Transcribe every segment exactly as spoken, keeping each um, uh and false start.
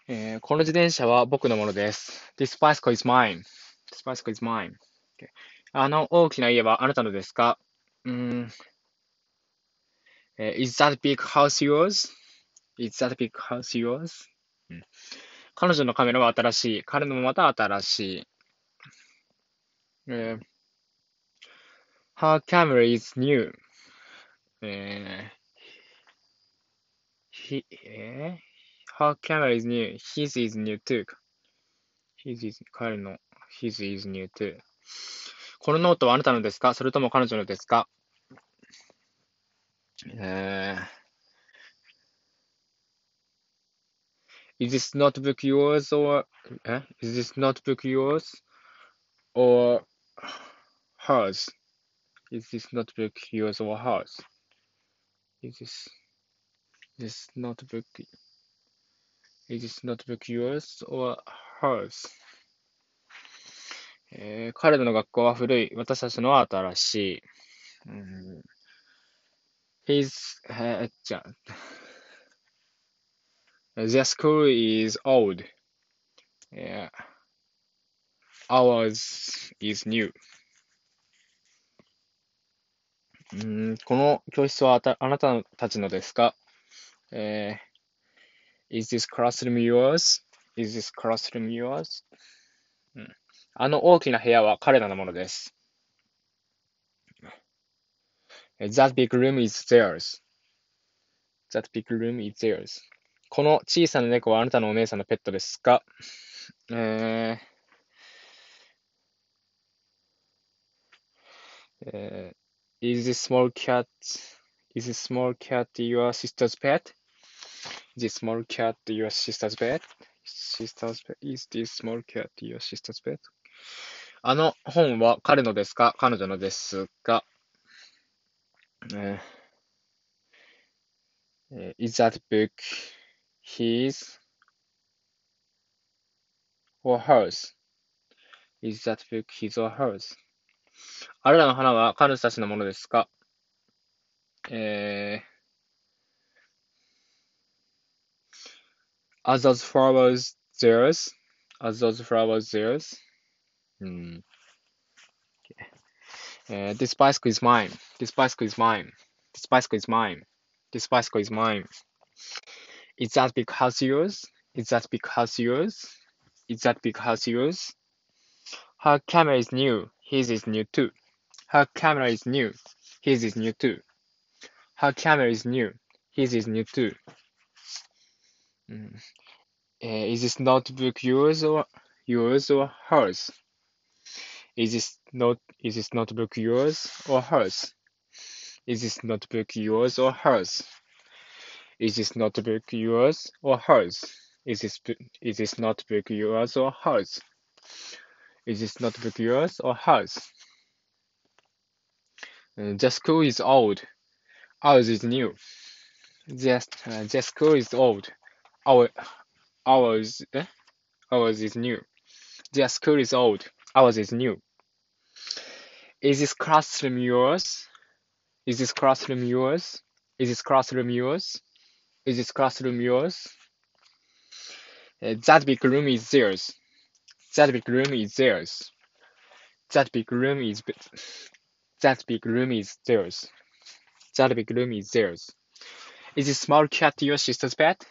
えーこの自転車は僕のものです。This bicycle is mine. This bicycle is mine. Okay. あの大きな家はあなたのですか？うーん、えー Is that big house yours? Is that big house yours? うん、彼女のカメラは新しい。彼のもまた新しい。えー Her camera is new. えー he, えー Her camera is new. His is new too. His is, 彼の His is new too. このノートはあなたのですか？それとも彼女のですか？えー Is this notebook yours or え Is this notebook yours or hers? Is this notebook yours or hers? Is this this notebook is this notebook yours or hers? えー彼らの学校は古い。私たちのは新しい。うん、His えーじゃあ Their school is old. えー Ours is new. うーんこの教室はあたあなたたちのですか？えー Is this classroom yours? Is this classroom yours? うん、あの大きな部屋は彼らのものです。That big room is theirs. That big room is theirs. この小さな猫はあなたのお姉さんのペットですか？えーえー Is this small cat Is this small cat your sister's pet? Is this small cat your sister's pet? Sister's pet? Is this small cat your sister's pet? あの本は彼のですか？彼女のですか？えー Is that book his or hers? Is that book his or hers? あれらの花は彼女たちのものですか？えー、Are those flowers theirs? Are those flowers theirs? うん。えー This bicycle is mine. This bicycle is mine. This bicycle is mine. This bicycle is mine. Is that big house yours? Is that big house yours? Is that big house yours? Her camera is new. His is new too. Her camera is new. His is new too. Her camera is new. His is new too. うん、えー Is this notebook yours or yours or hers? Is this not is this notebook yours or hers? Is this notebook yours or hers? Is this notebook yours or hers? Is this is this notebook yours or hers? Is this notebook yours or hers? Uh, the school is old. Ours is new. Just uh, the school is old. Our ours eh? Ours is new. The school is old. Ours is new. Is this classroom yours? Is this classroom yours? Is this classroom yours? Is this classroom yours? Uh, that big room is theirs. That big room is theirs. That big room is that big room is theirs. That big room is theirs. Is this small cat your sister's pet?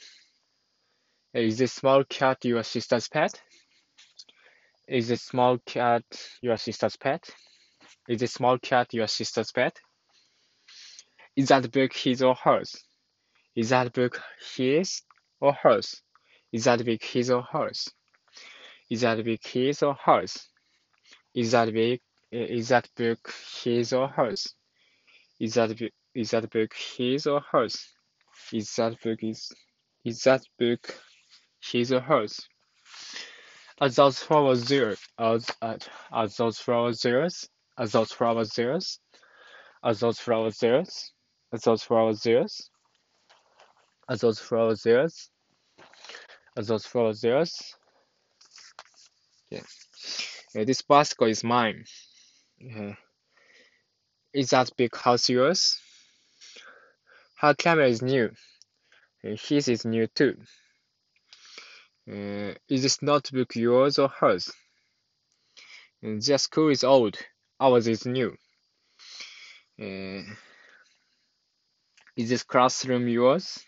Is this small cat your sister's pet? Is this small cat your sister's pet? Is this small cat your sister's pet? Is that book his or hers? Is that book his or hers? Is that book his or hers? Is that book his or hers? Is that book is that book his or hers? Is that book is that book his or hers? Is that book is is that book his or hers? Are those flowers there? Are, are, are those flowers theirs? Are those flowers theirs? Are those flowers theirs? Are those flowers theirs? Are those flowers theirs? Are those flowers theirs? Yeah. Uh, this bicycle is mine. Uh, is that big house yours? Her camera is new. Uh, his is new too. Uh, is this notebook yours or hers? Uh, Their school is old. Ours is new. Uh, is this classroom yours?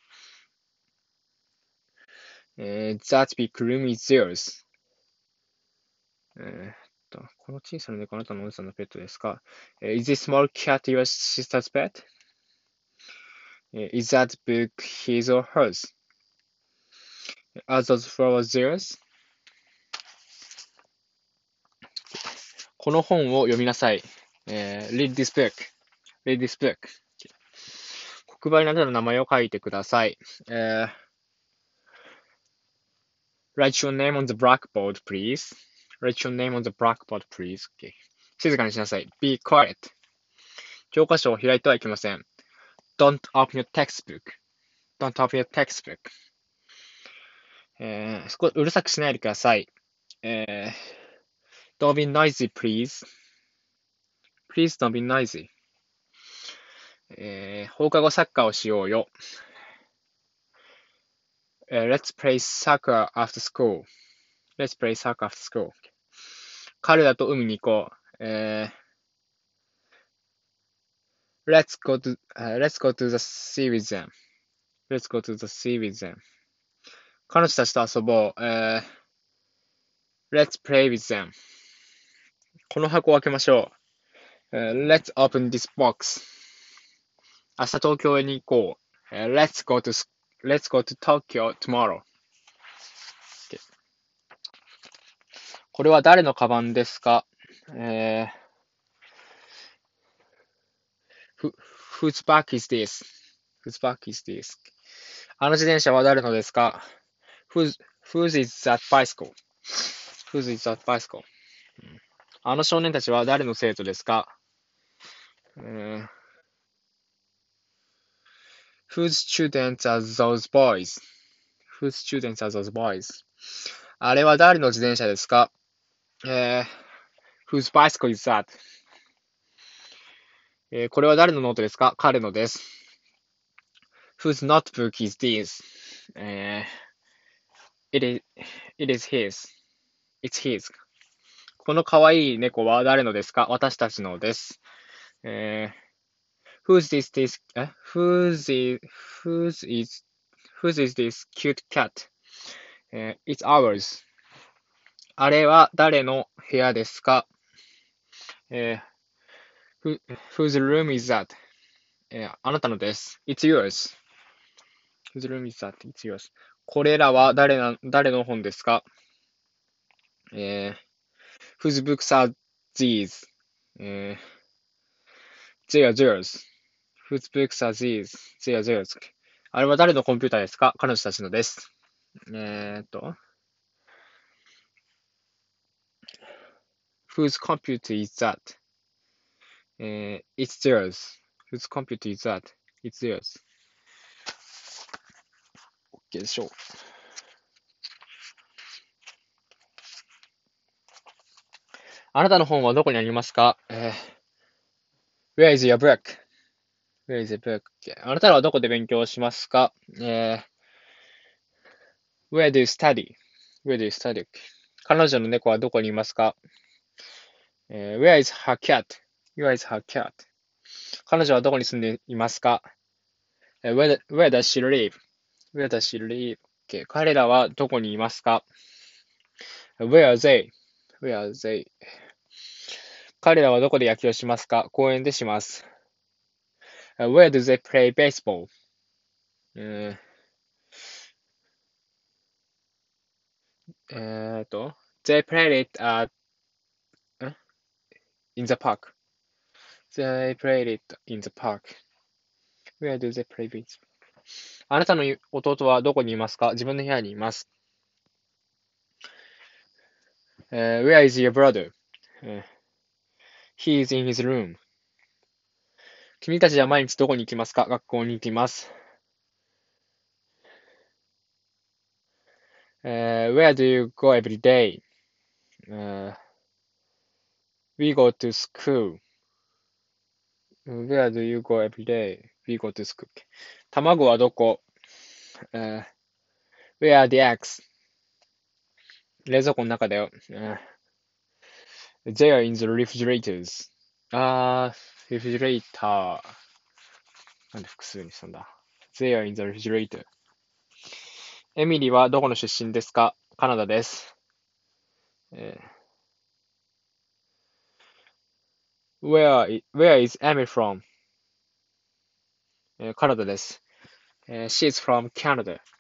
Uh, that big room is theirs. えーっと、この小さな猫あなたのおじさんのペットですか？ Is this small cat your sister's pet? Is that book his or hers? Are those flowers theirs? この本を読みなさい。えー read this book. read this book. 黒板にあなたの名前を書いてください。えー write your name on the blackboard, please. write your name on the blackboard, please. Okay. 静かにしなさい。be quiet. 教科書を開いてはいけません。don't open your textbook. don't open your textbook. えー、そこうるさくしないでください。えー、don't be noisy, please. Please don't be noisy. えー、放課後サッカーをしようよ。えー、Let's play soccer after school. Let's play soccer after school. 彼らと海に行こう。えー、Let's go to,、uh, let's go to the sea with them. Let's go to the sea with them. 彼女たちと遊ぼう。えー、Let's play with them. この箱を開けましょう。えー、Let's open this box. 明日東京へに行こう。えー、Let's go to, let's go to Tokyo tomorrow. これは誰のカバンですか？えー、Whose bag is this? Whose bag is this? あの自転車は誰のですか？ Whose, whose is that bicycle? Whose is that bicycle? あの少年たちは誰の生徒ですか？えー、Whose students are those boys? Whose students are those boys? あれは誰の自転車ですか？えー、Whose bicycle is that? えー、これは誰のノートですか？彼のです。Whose notebook is this? えー、it is, it is his. It's his. この可愛い猫は誰のですか？私たちのです。えー、Whose is this? え Whose is, whose is, whose is this cute cat? えー、It's ours. あれは誰の部屋ですか？えー、Whose room is that? えー、あなたのです。It's yours. Whose room is that? It's yours. これらは誰な、誰の本ですか？えー、Whose books are these? えー、They are theirs. Whose books are these? They are theirs. あれは誰のコンピューターですか？彼女たちのです。えーっと、Whose computer is that? えー、It's theirs. Whose computer is that? It's theirs. OK でしょう。あなたの本はどこにありますか？えー、Where is your book? Where is your book? あなたはどこで勉強しますか？えー、Where do you study? Where do you study? 彼女の猫はどこにいますか？えー、Where is her cat? Where is her cat? 彼女はどこに住んでいますか？えー、where, where does she live? Where does she live? Okay. 彼らはどこにいますか？ Where are they? Where are they? 彼らはどこで野球をしますか？公園でします。Where do they play baseball? えー、えーと、They play it at, in the park. They play it in the park. Where do they play baseball? あなたの弟はどこにいますか？自分の部屋にいます。Uh, where is your brother? Uh, he is in his room. 君たちは毎日どこに行きますか？学校に行きます。Uh, where do you go every day? Uh, we go to school. Where do you go every day? We go to school. 卵はどこ？uh, Where are the eggs? 冷蔵庫の中だよ。うん、They are in the refrigerators. あー、refrigerator。なんで複数にしたんだ。They are in the refrigerator. エミリーはどこの出身ですか？カナダです。えー Where, i- where is Emily from? えーカナダです。えー She is from Canada.